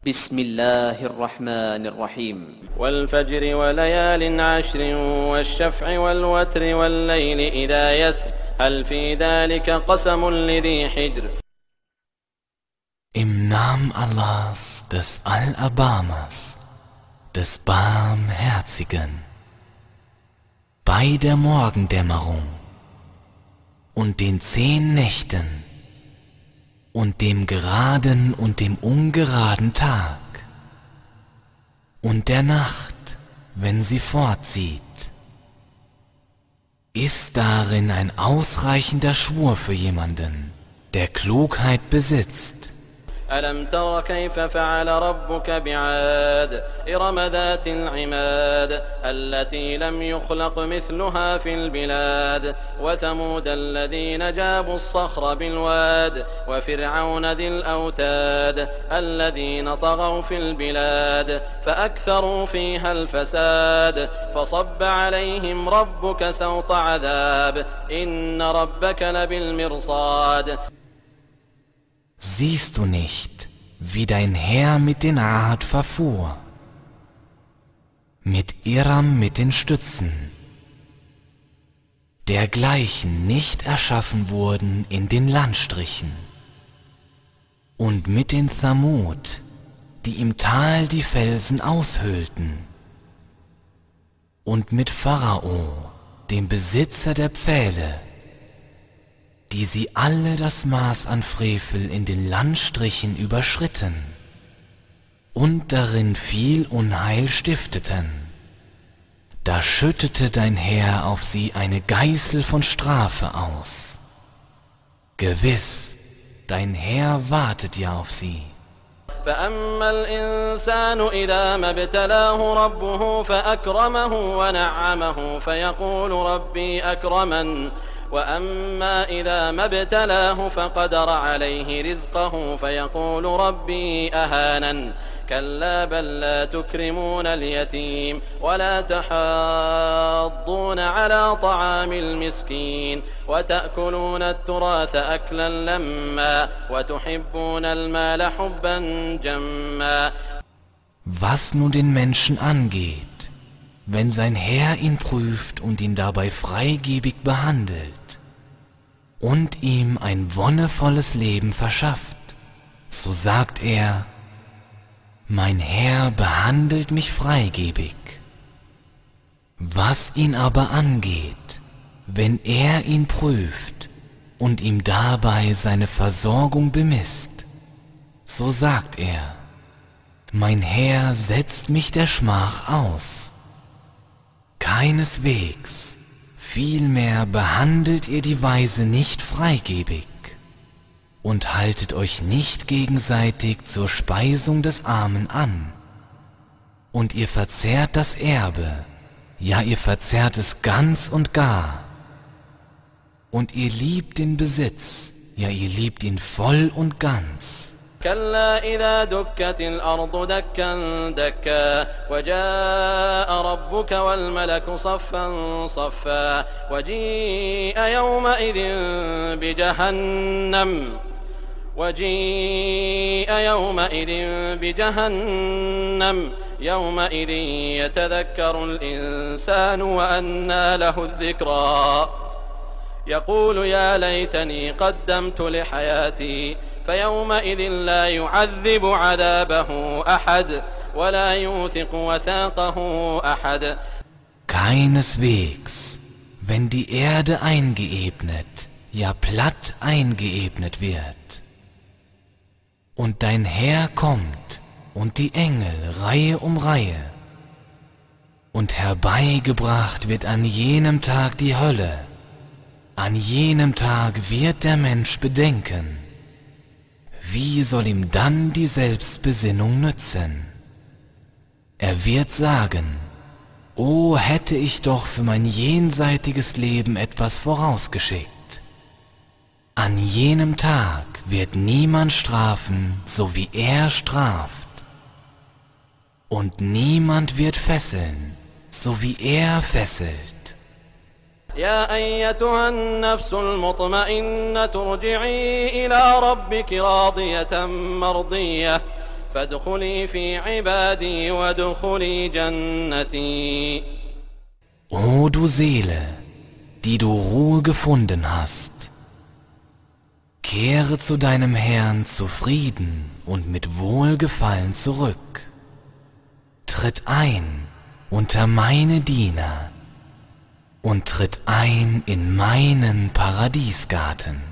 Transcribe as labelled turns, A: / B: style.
A: بسم الله الرحمن الرحيم
B: والفجر وليال عشر والشفع والوتر والليل إذا يسر هل في ذلك قسم لذي حجر.
C: Im Namen Allahs, des Allerbarmers, des Barmherzigen, bei der Morgendämmerung und den 10 Nächten und dem geraden und dem ungeraden Tag und der Nacht, wenn sie fortzieht, ist darin ein ausreichender Schwur für jemanden, der Klugheit besitzt.
B: ألم تر كيف فعل ربك بعاد إرم ذات العماد التي لم يخلق مثلها في البلاد وثمود الذين جابوا الصخر بالواد وفرعون ذي الأوتاد الذين طغوا في البلاد فأكثروا فيها الفساد فصب عليهم ربك سوط عذاب إن ربك لبالمرصاد.
C: Siehst du nicht, wie dein Herr mit den Rad verfuhr, mit Iram mit den Stützen, dergleichen nicht erschaffen wurden in den Landstrichen, und mit den Thamud, die im Tal die Felsen aushöhlten, und mit Pharao, dem Besitzer der Pfähle, die sie alle das Maß an Frevel in den Landstrichen überschritten und darin viel Unheil stifteten. Da schüttete dein Herr auf sie eine Geißel von Strafe aus. Gewiss, dein Herr wartet ja auf sie.
B: فأما الإنسان إذا ما ابتلاه ربه فأكرمه ونعمه فيقول ربي أكرمن وأما إذا ما ابتلاه فقدر عليه رزقه فيقول ربي أهانن كلا بل لا تكرمون اليتيم ولا تحاضون على طعام المسكين وتأكلون التراث أكلا لما وتحبون المال حبا جما.
C: Was nun den Menschen angeht, wenn sein Herr ihn prüft und ihn dabei freigebig behandelt und ihm ein wonnevolles Leben verschafft, so sagt er: Mein Herr behandelt mich freigebig. Was ihn aber angeht, wenn er ihn prüft und ihm dabei seine Versorgung bemisst, so sagt er: Mein Herr setzt mich der Schmach aus. Keineswegs, vielmehr behandelt ihr die Weise nicht freigebig und haltet euch nicht gegenseitig zur Speisung des Armen an. Und ihr verzehrt das Erbe, ja ihr verzehrt es ganz und gar. Und ihr liebt den Besitz, ja ihr liebt ihn voll und ganz.
B: كلا إذا دكت الأرض دكا دكا وجاء ربك والملك صفا صفا وجيء يومئذ بجهنم يومئذ يتذكر الإنسان وأنى له الذكرى يقول يا ليتني قدمت لحياتي فيومئذ لا يعذب عذابه أحد ولا يوثق وثاقه أحد.
C: Keineswegs, wenn die Erde eingeebnet, ja platt eingeebnet wird, und dein Herr kommt und die Engel Reihe um Reihe, und herbeigebracht wird an jenem Tag die Hölle, an jenem Tag wird der Mensch bedenken. Wie soll ihm dann die Selbstbesinnung nützen? Er wird sagen: O hätte ich doch für mein jenseitiges Leben etwas vorausgeschickt. An jenem Tag wird niemand strafen, so wie er straft. Und niemand wird fesseln, so wie er fesselt.
B: يا أيتها النفس المطمئنة ارجعي إلى ربك راضية مرضية فادخلي في عبادي وادخلي جنتي.
C: O du Seele, die du Ruhe gefunden hast, kehre zu deinem Herrn zufrieden und mit Wohlgefallen zurück. Tritt ein unter meine Diener und tritt ein in meinen Paradiesgarten.